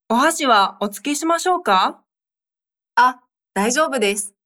お箸はお付けしましょうか？ あ、大丈夫です。